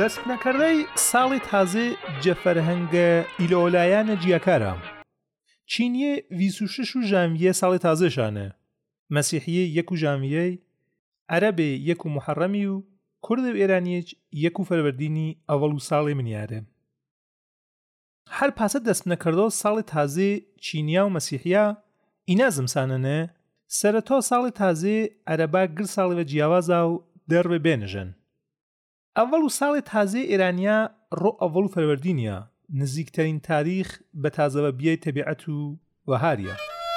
دەست نەکردەی ساڵی تازێ جەفەرهەنگە ئیلۆلایانە جیاکارە. چینیە 26 ژانڤیە ساڵی تازێشانە، مەسیحیە 1 ژانڤیە، عەرەبێ 1 محەڕەمی و کورد و ئێرانیەک 1 فەروەردینی ئەوەڵ و ساڵی منیارە. هەر پاسە دەست نەکردەوە ساڵی تازێ چینیا و مەسیحیا ئینا زمسانەنە سەرەتۆ ساڵی تازێ عەرەبا گر ساڵی بە جیاوازا و دەڕوێ بێنژن. ئەوەڵ و ساڵی تازێ ئێرانیا ڕۆ ئەوەڵ و فەروەردینیە، نزیکترین تاریخ بە تازەوە بیای تەبیعەت و وەهاریە.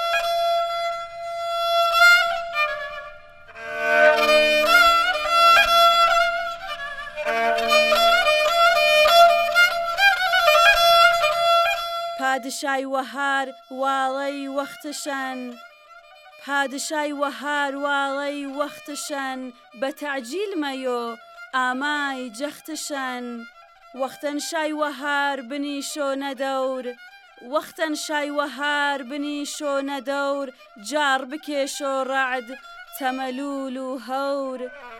پادشای وەهار واڵەی وەختشان، پادشای وەهار واڵەی وەختشان، بە تەعجیل مەیۆ ئامای جەختشان. وەختەن شای وەهار بنی شۆنە دەور، وەختەن شای وەهار بنی شۆنە دەور، جار بکێشۆ ڕەعد تەمەلول و هەور.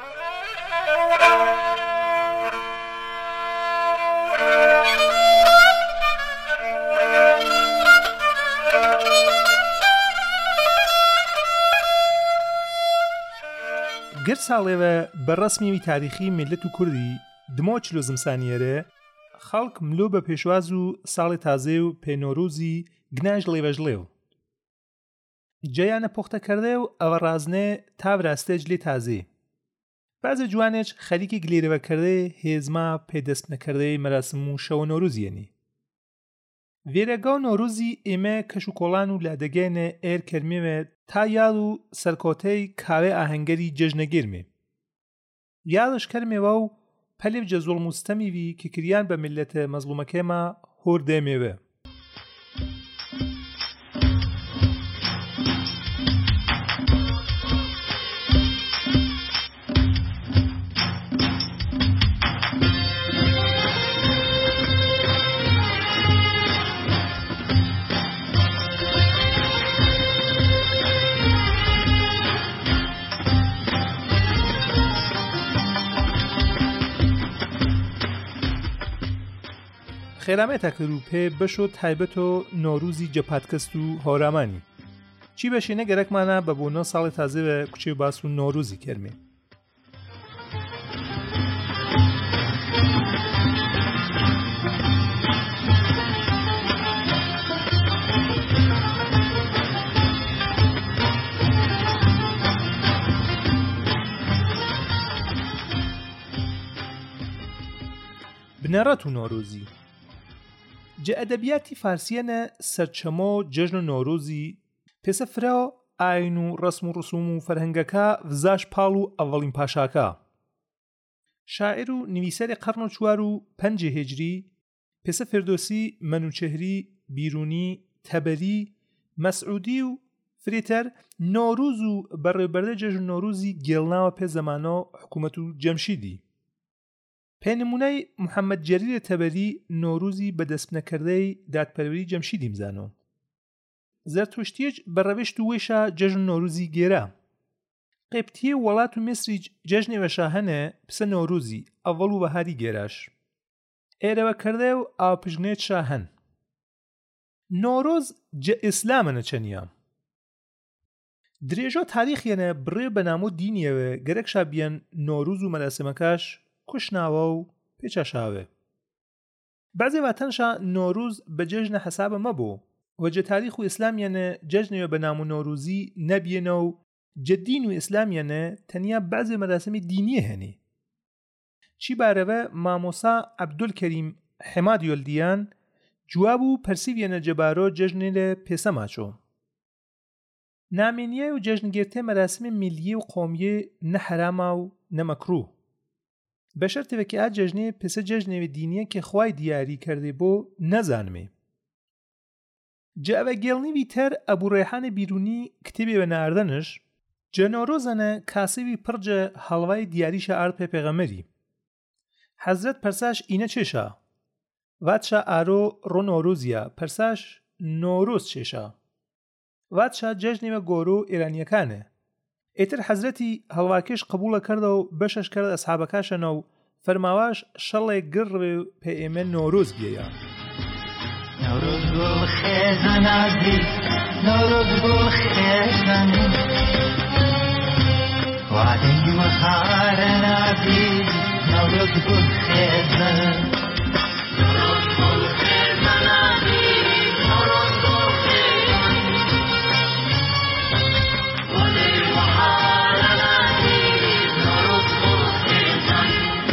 گر ساڵێوە بەڕەسمیوی تاریخی میلەت و کوردی دمۆ چلۆ زمسانیەرە خەڵک ملۆ بە پێشواز و ساڵی تازێ و پێنۆرۆزی گناژ لێڤەژلێو. جەیانە پۆختەکردێ و ئەوە ڕازنێ تاڤراستێج لێ تازێ. بەزە جوانێک خەریکی گلێرەوەکردێ هێزما پێدەست نەکردەی مەراسم و شەوە نۆروزیەنی. وێرەگا و نۆروزی ئێمە کەش و کۆڵان و لادەگەینە ئێر کەرمێوە تا یاد و سەرکۆتەی کاوێ ئاهەنگەری جەژنەگیرمێ. یادش کەرمێوە و پەلێف جەزوڵ موستەمیوی کە کریان بە میلەتە مەزلومەکەیما هۆر دێمێوە. خێرامێتە کروپێ بەشۆ تایبەت و نۆروزی جەپاتکەست و هۆرامانی چی بەشێنە گەرەکمانە بە بۆنە ساڵی تازێ بە کوچێ باس و نۆروزی کەرمێ. بنەڕەت و نۆروزی جە ئەدەبیاتی فارسیەنە سەرچەمۆ جەژن و نۆروزی پێسە فرا ئاین و ڕسم و ڕسوم و فەرهەنگەکە ڤزاش پاڵ و ئەڤەڵین پاشاکە. شاعر و نویسەری قەرن و 4 و 5 هیجری پێسە فردۆسی، مەنوچەهری، بیرونی، تەبەری، مەسعودی و فرێتەر نۆروز و بەڕێوەبەردە جەژن نۆروزی گێڵناوە پێ زەمانۆ حکومەت و جەمشیدی. پێنمونەی محەممەد جەریر تەبەری نۆروزی بەدەست نەکردەی دادپەروەری جەمشیدی مزانۆ. زەرتوشتیەک بەڕەوێشت و وێشە جەژن نۆروزی گێرا. قێپتیە وڵات و میسریج جەژنێوەشە هەنە پسە نۆروزی ئەڤەڵ و بەهاری گێراش. ئێرەوە کردە و ئاپژنێت شاهن. نۆرۆز جە ئیسلامەنە چەنیە. درێژۆ تاریخیەنە بڕێ بەنامۆ دینیەوە گەرەکشا بیەن نۆروز و مەراسمەکەش کوشناوە و پێچەشاوێ. بەعزێ واتەنشا نۆروز بە جەژنە حەسابە مەبۆ وەجە تاریخ و ئیسلامیانە جەژنێوە بە نام و نۆروزی نەبیێنە و جەدین و ئیسلامیانە تەنیا بەعزێ مەراسمی دینیە هەنێ. چی بارەوە مامۆسا عەبدولکەریم حێماد یۆلدیان جواب و پەرسیڤیەنە جەبارۆ جەژنێرە پێسە ماچۆ. نامێنیە و جەژنگێرتێ مەراسمی میلیە و قۆمیە نە حەرامە و نە مەکروه. بەشەرتێوەکی ئا جەژنێ پێسە جەژنێوی دینیە کە خوای دیاری کردێ بۆ نەزانمێ. جەوە گێڵنیوی تەر ئەبوو ڕێحانە بیرونی کتێبێ بە ناردەنش جەنۆرۆزەنە کاسێوی پڕجە هەڵوای دیاریشە ئارد پێ پێغەمەری. حەزرەت پەرساش ئینە چێشە؟ واتشا ئارۆ ڕۆ نۆروزیە پەرساش نۆرۆز چێشە؟ واتشا جەژنێوە گۆرۆ ئێرانیەکانە. ئێتر حەزرەتی هەڵواکێش قبوڵە کردە و بەشەش کرد ئەسحابەکاشەنە و فەرماواش شەڵێک گڕ پێ ئێمە نۆرۆز بیەیە. نوروز گل خیزن عزیز، نوروز گل خیزن، وعدی و خارن عزیز، نوروز گل خیزن، نوروز گل خیزن عزیز، نوروز گل خیزن، وعدی و خارن عزیز، نوروز گل خیزن.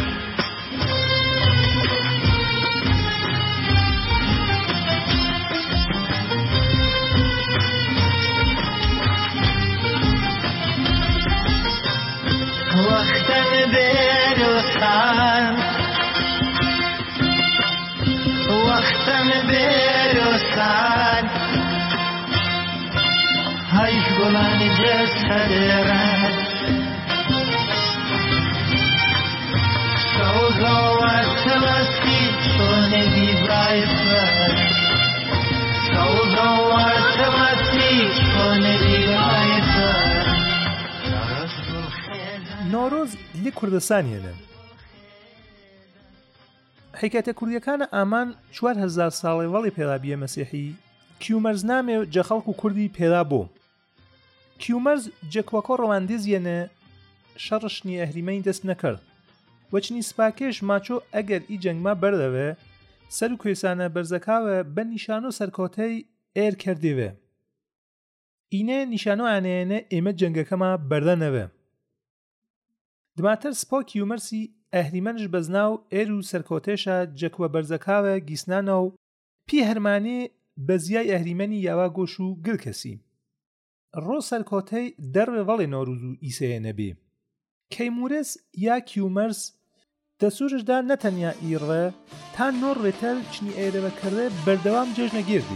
وقتن بروسان، وقتن بروسان، هایش گلان جسد رد، سوزا و تمسی چون دیبای فرد، سوزا و تمسی چون دیبای فرد. نۆرۆز لێ کوردستانیانە. حکایەتە کوردیەکانە ئامان 4000 ساڵی وەڵی پێڵابیە مەسیحی کیومەرز نامێ جە خەڵک و کوردی پێدا بۆ. کیومەرز جەکوەکۆ ڕەواندێزیەنە شەڕشنی ئەهریمەی دەست نەکرد. وەچنی سپاکێش ماچۆ ئەگەر ئی جەنگما بەردەوێ سەر و کوێسانە بەرزەکاوە بە نیشان و سەرکۆتەی ئێر کردێوێ. ئینێ نیشانۆ ئانەیەنە ئێمە جەنگەکەما بەردەنەوێ. دماتر سپۆ کیومەرسی ئەهریمەنش بەزناو ئێر و سەرکۆتێشە جەکوە بەرزەکاوە گیسنانە و پی هەرمانێ بەزیای ئەهریمەنی یاوا گۆش و گل کەسی. ڕۆ سەرکۆتەی دەڕێ وەڵێ نۆروز و ئیسەیە نەبێ. کەیمورس یا کیومەرس دەسوورشدا نەتەنیا ئیڕێ تا نۆر ڕێتەل چنی ئێرەوەکردێ بەردەوام جێژنە گێردی.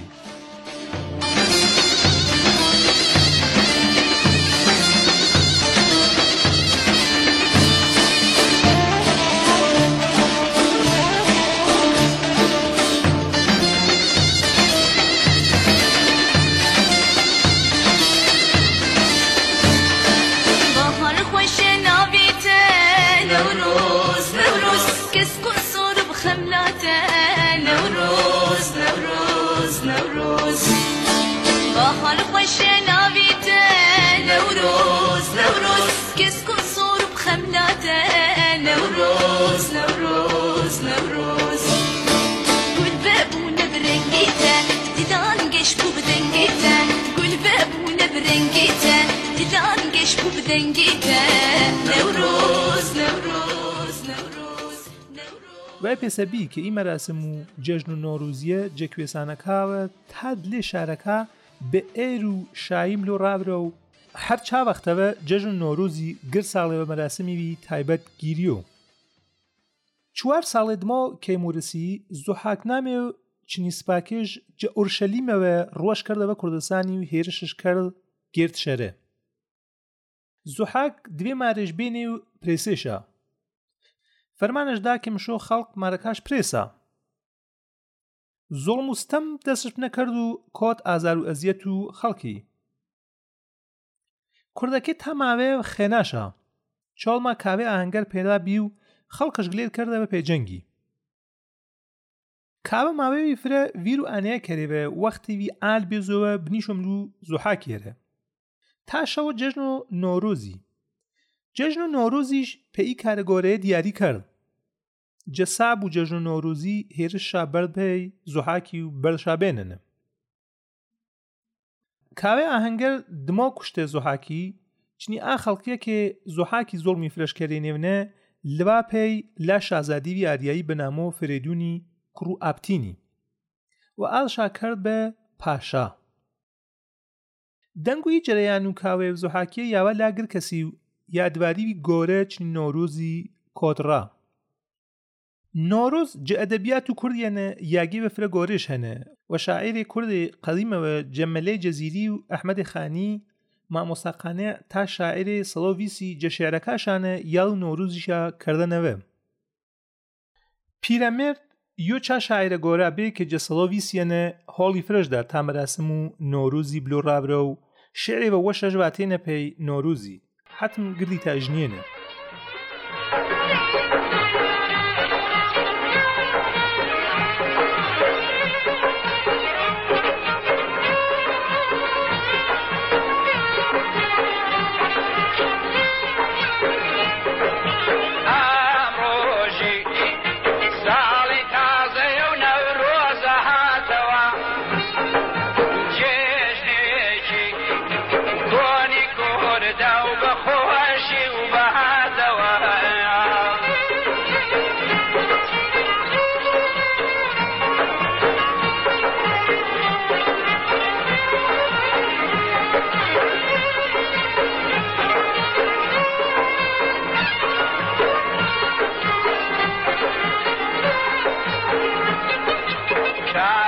وای پێسەبی کە ئی مەراسم و جەژن و نۆروزیە جەکوێسانەکاوە تا دلێ شارەکە بە ئێر و شایم لۆ ڕابرە و هەر چاوەختەوە جەژن و نۆروزی گر ساڵێوە مەراسمیوی تایبەت گیریۆ. 4 ساڵێ دمۆ کەیمورسی زوحاک نامێ و چنی سپاکێژ جە ئورشەلیمەوە ڕۆژ کردەوە کوردستانی و هێرشش کرد گرد شەرە. زوحاک دوێ مارێژ بێنێ و پرێسێشە. فەرمانشدا کە مشۆ خەڵق مارەکاش پرێسە. زۆڵم و ستەم دەستش نەکرد و کۆت ئازار و ئەزیەت و خەڵکی. کوردەکە تا ماوێ خێناشە. چۆڵما کاوێ ئاهەنگەر پێدا بی و خەڵکش گلێر کردەوە پێجەنگی. کاوە ماوەوی فرە ویر و ئانەیە کەرێوە وەختیوی ئال بێزەوە بنیشم و زوحاکێرە. تا شەوە جەژن و نۆرۆزی. جەژن و نۆرۆزیش پێی کارەگۆرەیە دیاری کرد. جەساب و جەژن و نۆرۆزی هێرشا بەردپەی زوحاکی و بەرشابێننە. کاوێ ئاهەنگەر دمۆ کوشتێ زوحاکی چنی ئا خەڵکیە کە زوحاکی زۆڵمی فرەشکەرێنێونە لەوا پێی لا شازادیوی ئاریایی بەنامۆ فرێدونی کوڕ و ئاپتینی و ئالشا کرد بە پاشا. دەنگوی جەرەیان و کاوێ زوحاکیە یاوە لاگر کەسی و یادواریوی گۆرە چنی نۆرۆزی کۆتڕا. نۆرۆز جە ئەدەبیات و کوردیانە یاگی بە فرە گۆرەش هەنە و شاعیری کوردی قەدیمەوە جەمەلەی جەزیری و ئەحمەدی خانی مامۆستاقانە تا شاعیری سەڵۆڤیسی جە شێعرەکاشانە یاڵ و نۆروزیشا کردنەوە. پیرەمێرد یۆ چا شاعیرە گۆرە بێ کە جە سەڵۆڤیسیەنە هۆڵی فرەشدا تا مەراسم و نۆروزی بلۆ ڕابرە و شعری بە وەشەش واتێنە پێی نۆروزی حتم گردی تاژنیێنە.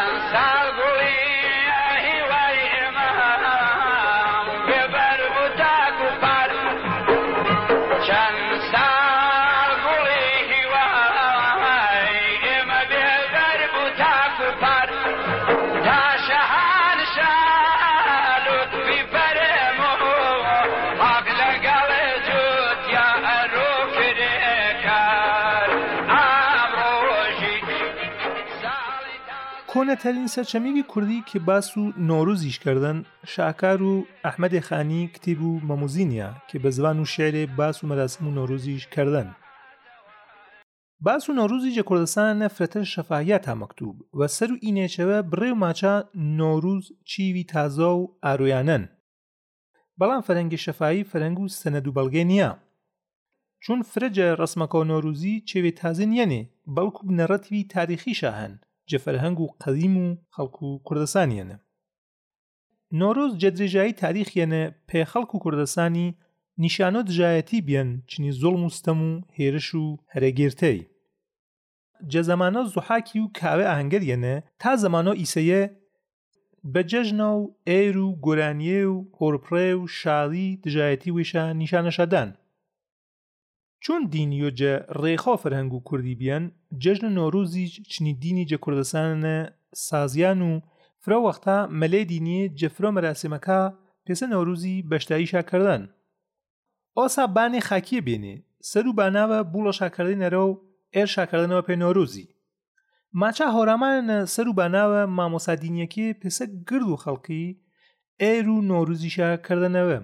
کۆنەترین سەرچەمێکی کوردی کە باس و نۆروزیش کردن شاکار و ئەحمەدی خانی کتێب و مەموزینیە کە بە زبان و شێعرێ باس و مەراسم و نۆروزیش کردن. باس و نۆروزی جە کوردستانە فرەتە شەفاهیە تا مەکتوب و سەر و ئینێچەوە بڕێ و ماچە نۆروز چیوی تازە و ئارویانن. بەڵام فەرەنگی شەفاهی فەرەنگ و سەنەد و بەڵگێ نییە. چون فرەجە ڕسمەکە و نۆروزی چێوێ تازە نیەنێ بەڵکو بنەڕەتیوی تاریخیشە هەن جە فەرهەنگ و قەدیم و خەڵک و کوردستانیەنە. نۆروز جە درێژایی تاریخیەنە پێ خەڵک و کوردستانی نیشانۆ دژایەتی بیان چنی زۆڵم و ستەم و هێرش و هەرەگێرتەی. جە زەمانە زوحاکی و کاوێ ئاهەنگەریەنە تا زەمانۆ ئیسەیە بە جەژنە و ئێر و گۆرانیە و هۆرپڕێ و شاڵی دژایەتی وێشە نیشانەشەدان. چون دینیۆ جە ڕێخۆ فەرهەنگ و کوردی بیان جەژن نۆروزی چنی دینی جە کوردستانە سازیان و فرە وەختا مەلێ دینیە جەفرۆ مەراسمەکە پێسە نۆروزی بەشداریشا کردن. ئۆسا بانێ خاکیە بێنێ سەر و باناوە بوڵە شاکردنەرە و ئێر شاکردنەوە پێ نۆروزی. ماچە هۆرامانە سەر و باناوە مامۆسا دینیەکێ پێسە گرد و خەڵکی ئێر و نۆروزیشا کردنەوە.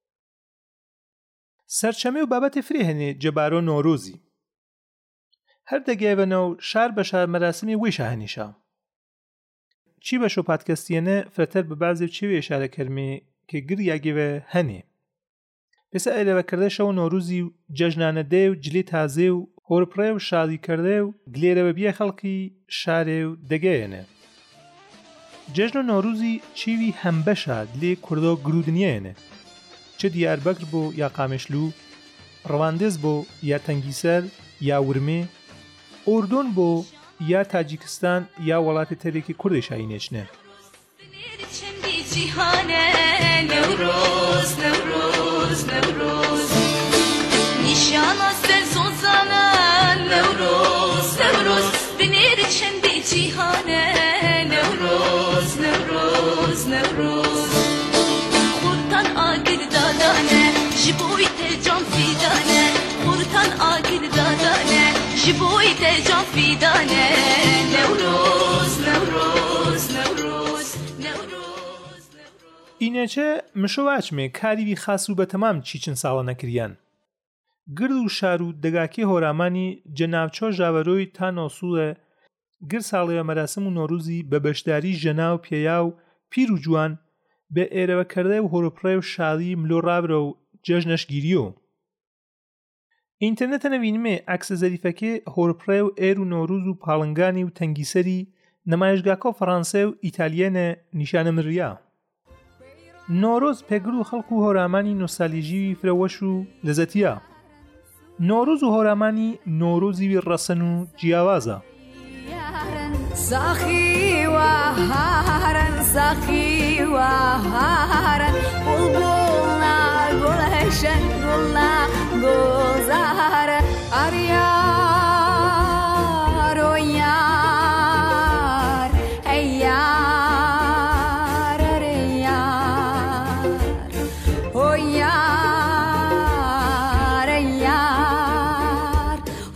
سەرچەمێ و بابەتێ فرێ هەنێ جەبارۆ نۆروزی. هەر دەگەیبەنە و شار بە شار مەراسمی وێشە هەنیشە. چی بە شۆ پادکەستیەنە فرەتەر بە بازێ چێوێ ئێشارە کەرمێ کە گر یاگێوە هەنێ. پێسە ئەلێوەکردە شەو نۆروزی و جەژنانە دێ و جلێ تازێ و هۆرپڕێ و شادی کردێ و گلێرەوە بیە خەڵکی شارێ و دەگەیەنە. جەژن و نۆروزی چیوی هەمبەشە لێ کوردۆ گرودنیەنە. چه دیاربەکر بۆ یا قامشلو، ڕەواندز بۆ یا تەنگیسەر یا ورمێ، ئۆردۆن بۆ یا تاجیکستان یا وڵاتی تەرێکی کوردی شاینێچنە. نوروز نوروز نوروز نیشانا سر سوزانه نوروز نوروز بنیر چندی جیهانه نوروز نوروز نوروز خورتان آگر دادانه جبوی تجان فیدانه خورتان آگر دادانه جبوی تجان فیدانه نوروز نوروز نوروز نوروز ئینەچە مشۆواچمێ کاریوی خاس و بەتەمام چیچن ساڵە نەکریان. گرد و شار و دەگاکی هۆرامانی جەناوچۆ ژاوەرۆی تا نۆسوڵە گر ساڵەیە مەراسم و نۆروزی بە بەشداری ژەنا و پێیا و پیر و جوان بە ئێرەوەکردە و هۆرپڕێ و شاڵی ملۆ ڕابرە و جەژنەش گیریۆ. ئینتەرنێتە نەوینمێ عەکسە زەریفەکێ هۆرپڕێ و ئێر و نۆروز و پاڵنگانی و تەنگیسەری نەمایشگاکۆ فەڕەنسە و ئیتالیەنە نیشانە مڕیا. نۆرۆز پێگر و خەڵک و هۆرامانی نۆستالژیوی فرەوەش و لەزەتیە. نۆروز و هۆرامانی نۆرۆزیوی ڕەسەن و جیاوازە. ساخی و هارن ساخی و هارن بلبلنا گلشن گلنا گلزار آریار و یار ای یار ای یار و یار ای یار و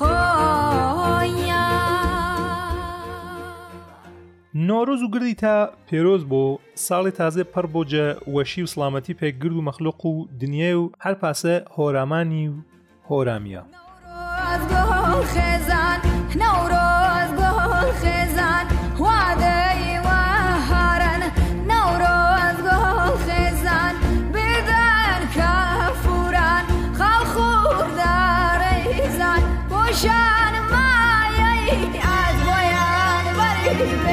نۆرۆز و گردی تا پێرۆز بۆ ساڵی تازە پڕ بۆ جە وەشی و سڵامەتی پێگرد و مەخلوق و دنیای و هەر پاسە هۆرامانی و هۆرامیە. نوروز گل خزان نوروز گل خزان وادی و هارن نوروز گل خزان بدن کافوران خالخور داریزان پوشان مایه از بایان بری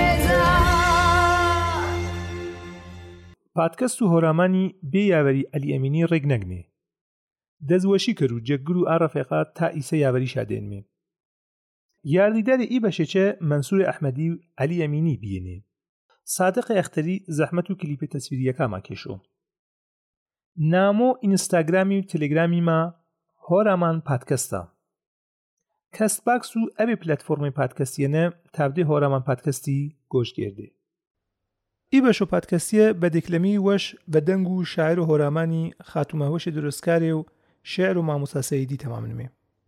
بزان. پادکەست و هۆرامانی بێ یاوەری عەلی ئەمینی ڕێک نەگنێ. دەزوەشی کرد و جەگر و ئاڕەفێقات تا ئیسە یاوەری شادێنمێ. یاردیداری ئی بەشێچە مەنسوور ئەحمەدی و عەلی ئەمینی بینێ. صادق اختری زحمت و کلیپ تصویریەکەمان کێشۆ. نامۆ ئینستاگرامی و تەلێگرامی ما هۆرامان پادکەستە. کەست باکس و ئەبێ پلەتفۆرمی پادکەستیەنە تابدێ هۆرامان پادکەستی گۆشتگێردێ. ئی بەشۆ پادکەستیە بە دێکلەمی وەش بە دەنگ و شاعر و هۆرامانی خاتومە وەشی دروستکارێ و شعر و مامۆستا سەیدی تەمامنمێ.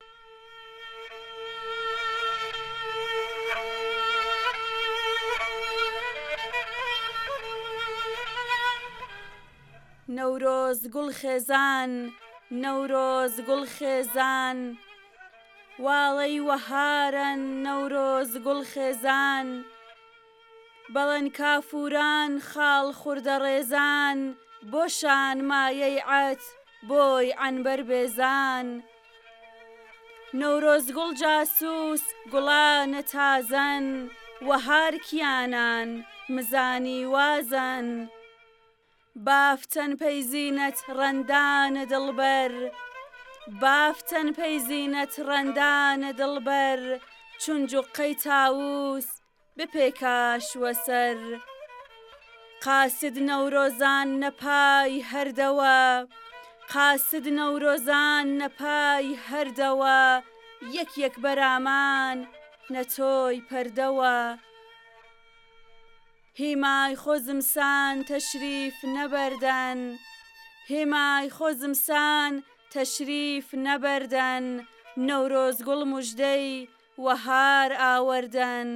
نەورۆز گوڵ خێزان، نەورۆز گوڵ خێزان، واڵەی وەهارن نەورۆز گوڵ خێزان، بەڵەن کافوران خاڵ خوردە ڕێزان، بۆشان مایەی عەت بۆی عنبەر بێزان. نەورۆز گوڵ جاسووس گوڵانە تازەن، وەهار کیانان مزانی وازن، بافتەن پەیزینەت ڕەندانە دڵبەر، بافتەن پەیزینەت ڕەندانە دڵبەر، چونجوقەی تاووس بپێکاشوە سەر. قاسد نەورۆزان نەپای هەردەوە، قاسد نەورۆزان نەپای هەردەوە، یەک یەک بەرامان نەتۆی پەردەوە. هیمای خۆزمسان تەشریف نەبەردەن، هیمای خۆزمسان تەشریف نەبەردەن، نەورۆز گوڵ موژدەی وەهار ئاوەردەن.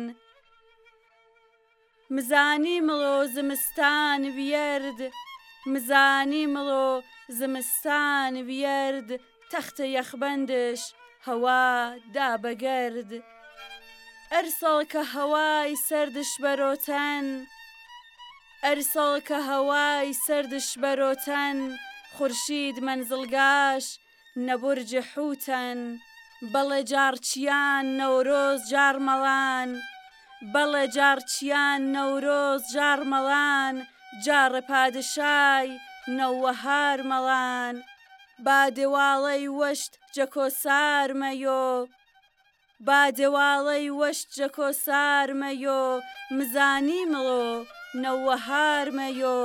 مزانی مڵۆ زمستان ویرد، مزانی مڵۆ زمستان ویرد، تەختە یەخبەندش هەوا دابەگەرد. ئەرسەڵ کە هەوای سەردش بەرۆتەن، ئەرسەڵ کە هەوای سەردش بەرۆتەن، خورشید مەنزڵگاش نەبورجە حوتەن. بەڵێ جارچیان نەورۆز جارمەڵان، بەڵێ جارچیان نەورۆز جارمەڵان، جارە پادشای نەوەهار مەڵان. با دێواڵەی وەشت جەکۆسار مەیۆ، با دێواڵەی وەشت جەکۆسار مەیۆ، مزانی مڵۆ نەوەهار مەیۆ.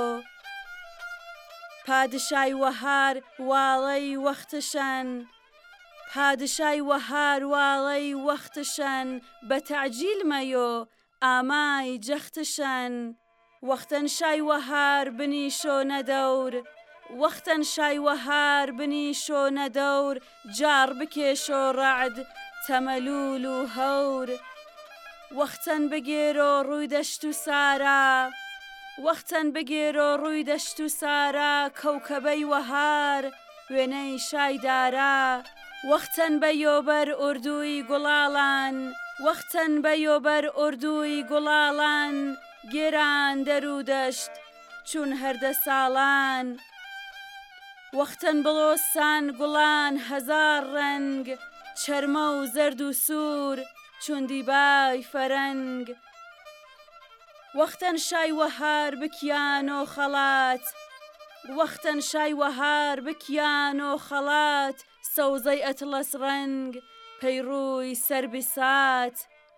پادشای وەهار واڵەی وەختشەن، پادشای وەهار واڵەی وەختشەن، بە تەعجیل مەیۆ ئامای جەختشەن. وەختەن شای وەهار بنیشۆ نەدەور، وەختەن شای وەهار بنیشۆ نەدەور، جار بکێشۆ ڕەعد تەمەلول و هەور. وەختەن بگێرۆ ڕووی دەشت و سارا، وەختەن بگێرۆ ڕووی دەشت و سارا، کەوکەبەی وەهار وێنەی شایدارا. وەختەن بەیۆبەر ئوردووی گوڵاڵان، وەختەن بەیۆبەر ئوردووی گوڵاڵان، گێران دەرو دەشت چون هەردە ساڵان. وەختەن بڵۆسان گوڵان هەزار ڕەنگ، چەرمە و زەرد و سوور چون دیبای فەرەنگ. وەختەن شای وەهار بکیانۆ خەڵات، وەختەن شای وەهار بکیانۆ خەڵات، سەوزەی ئەتڵەس ڕەنگ پەیڕووی سەر بیسات.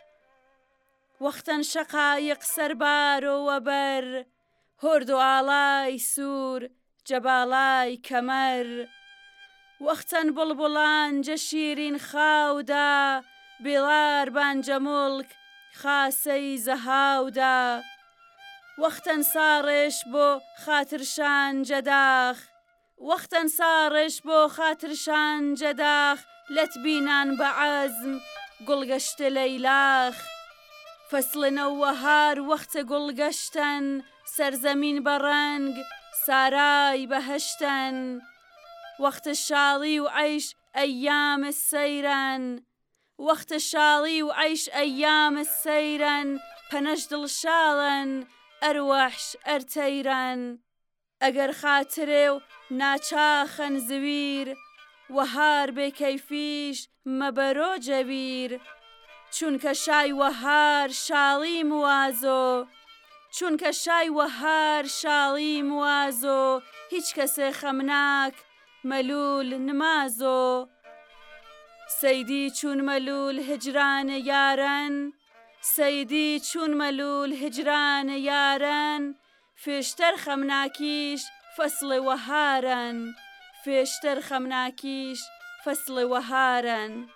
وەختەن شەقایق سەربارۆوە بەر، هۆرد و ئاڵای سوور جەباڵای کەمەر. وەختەن بڵبوڵان جە شیرین خاودا، بێڵار بانجە موڵک خاسەی زەهاودا. وەختەن ساڕێش بۆ خاترشان جەداخ، وەختەن ساڕێش بۆ خاترشان جەداخ، لەت بینان بە عەزم گوڵگەشتە لەیلاخ. فەسڵە نەوەهار وەختە گوڵگەشتن، سەرزەمین بە ڕەنگ سارای بەهەشتن. وەختە شاڵی و عەیش ئەیامە سەیرن، وەختە شاڵی و عەیش ئەیامە سەیرن، پەنەش دڵشاڵن ئەروەحش ئەرتەیرن. ئەگەر خاترێ و ناچاخەن زویر، وەهار بێکەیفیش مەبەرۆ جەبیر. چونکە شای وەهار شاڵی موازۆ، چونکە شای وەهار شاڵی موازۆ، هیچ کەسێ خەمناک مەلول نمازۆ. سەیدی چون مەلول هجرانە یارن، سەیدی چون مەلول هجران یارن فێشتەر خەمناکیش فەسڵی وەهارن فێشتەر خەمناکیش فەسڵی وەهارن